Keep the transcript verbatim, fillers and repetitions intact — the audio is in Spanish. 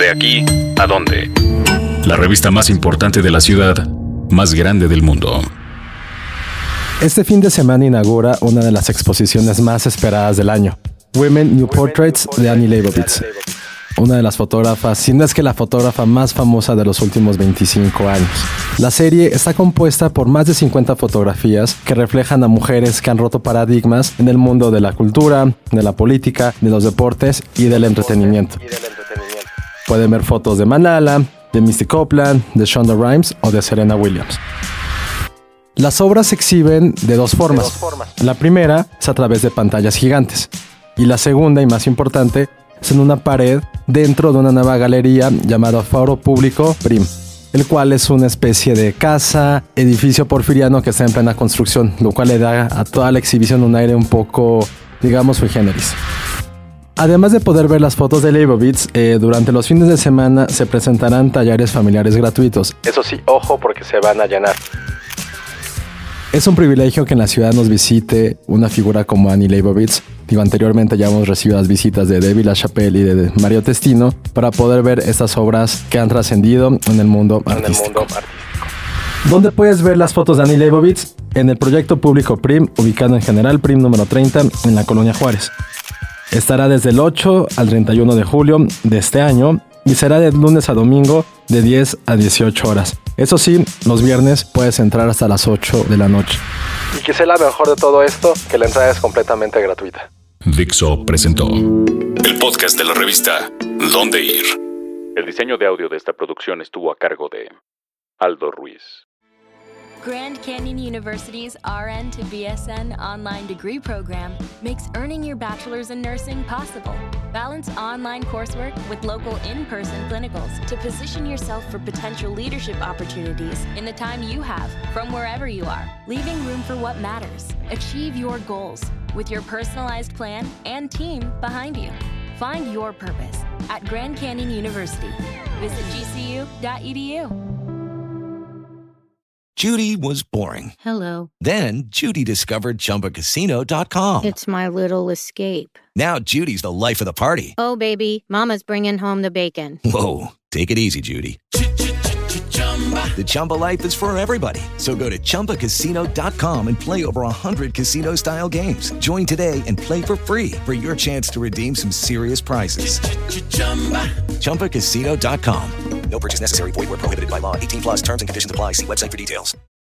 ¿De aquí a dónde? La revista más importante de la ciudad, más grande del mundo. Este fin de semana inaugura una de las exposiciones más esperadas del año, Women New Portraits de Annie Leibovitz, una de las fotógrafas, si no es que la fotógrafa más famosa de los últimos veinticinco años. La serie está compuesta por más de cincuenta fotografías que reflejan a mujeres que han roto paradigmas en el mundo de la cultura, de la política, de los deportes y del entretenimiento. Pueden ver fotos de Malala, de Misty Copeland, de Shonda Rhimes o de Serena Williams. Las obras se exhiben de dos formas. De dos formas. La primera es a través de pantallas gigantes y la segunda y más importante es en una pared dentro de una nueva galería llamada Foro Público Prim, el cual es una especie de casa, edificio porfiriano que está en plena construcción, lo cual le da a toda la exhibición un aire un poco, digamos, sui generis. Además de poder ver las fotos de Leibovitz, eh, durante los fines de semana se presentarán talleres familiares gratuitos. Eso sí, ojo porque se van a llenar. Es un privilegio que en la ciudad nos visite una figura como Annie Leibovitz. Digo, anteriormente ya hemos recibido las visitas de David LaChapelle y de Mario Testino para poder ver estas obras que han trascendido en el mundo En el artístico. mundo artístico. ¿Dónde puedes ver las fotos de Annie Leibovitz? En el proyecto público Prim, ubicado en General Prim número treinta, en la Colonia Juárez. Estará desde el ocho al treinta y uno de julio de este año y será de lunes a domingo de diez a dieciocho horas. Eso sí, los viernes puedes entrar hasta las ocho de la noche. Y quizá la mejor de todo esto, que la entrada es completamente gratuita. Dixo presentó el podcast de la revista ¿Dónde ir? El diseño de audio de esta producción estuvo a cargo de Aldo Ruiz. Grand Canyon University's R N to B S N online degree program makes earning your bachelor's in nursing possible. Balance online coursework with local in-person clinicals to position yourself for potential leadership opportunities in the time you have from wherever you are, leaving room for what matters. Achieve your goals with your personalized plan and team behind you. Find your purpose at Grand Canyon University. Visit G C U dot E D U. Judy was boring. Hello. Then Judy discovered Chumba Casino dot com. It's my little escape. Now Judy's the life of the party. Oh, baby, mama's bringing home the bacon. Whoa, take it easy, Judy. The Chumba life is for everybody. So go to Chumba Casino dot com and play over one hundred casino-style games. Join today and play for free for your chance to redeem some serious prizes. Chumba Casino dot com. No purchase necessary. Void where prohibited by law. eighteen plus terms and conditions apply. See website for details.